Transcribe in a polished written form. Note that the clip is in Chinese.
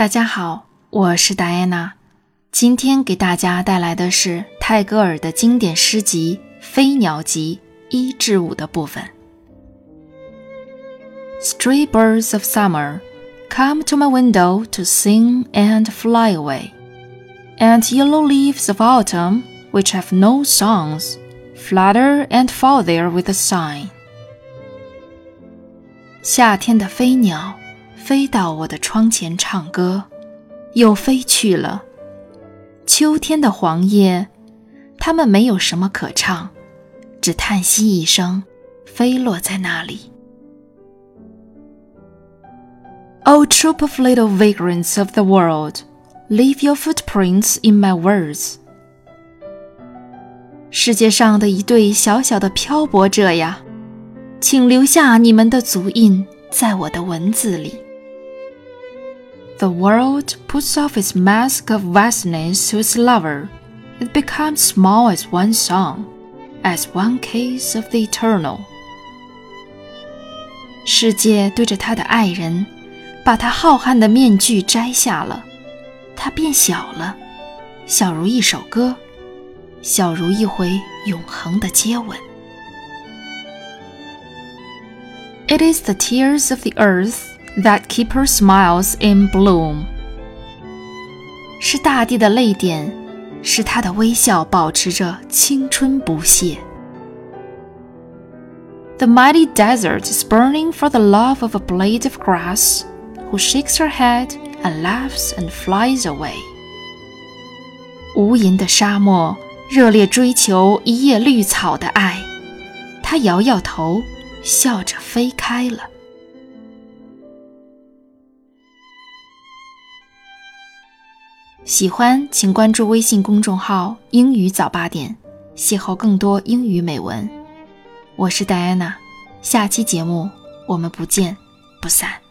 大家好，我是戴安娜，今天给大家带来的是泰戈尔的经典诗集《飞鸟集》1至5的部分。Stray birds of summer come to my window to sing and fly away, and yellow leaves of autumn, which have no songs, flutter and fall there with a sigh. 夏天的飞鸟飞到我的窗前唱歌，又飞去了。秋天的黄叶，它们没有什么可唱，只叹息一声，飞落在那里。O troop of little vagrants of the world, leave your footprints in my words. 世界上的一对小小的漂泊者呀，请留下你们的足印在我的文字里。The world puts off its mask of vastness to its lover. It becomes small as one song, as one case of the eternal. 世界对着他的爱人，把他浩瀚的面具摘下了，他变小了，小如一首歌，小如一回永恒的接吻。It is the tears of the earth that keep her smiles in bloom. 是大地的泪点，使她的微笑保持着青春不懈。The mighty desert is burning for the love of a blade of grass, who shakes her head and laughs and flies away. 无垠的沙漠热烈追求一叶绿草的爱，她摇摇头，笑着飞开了。喜欢请关注微信公众号英语早8点，邂逅更多英语美文。我是戴安娜，下期节目我们不见不散。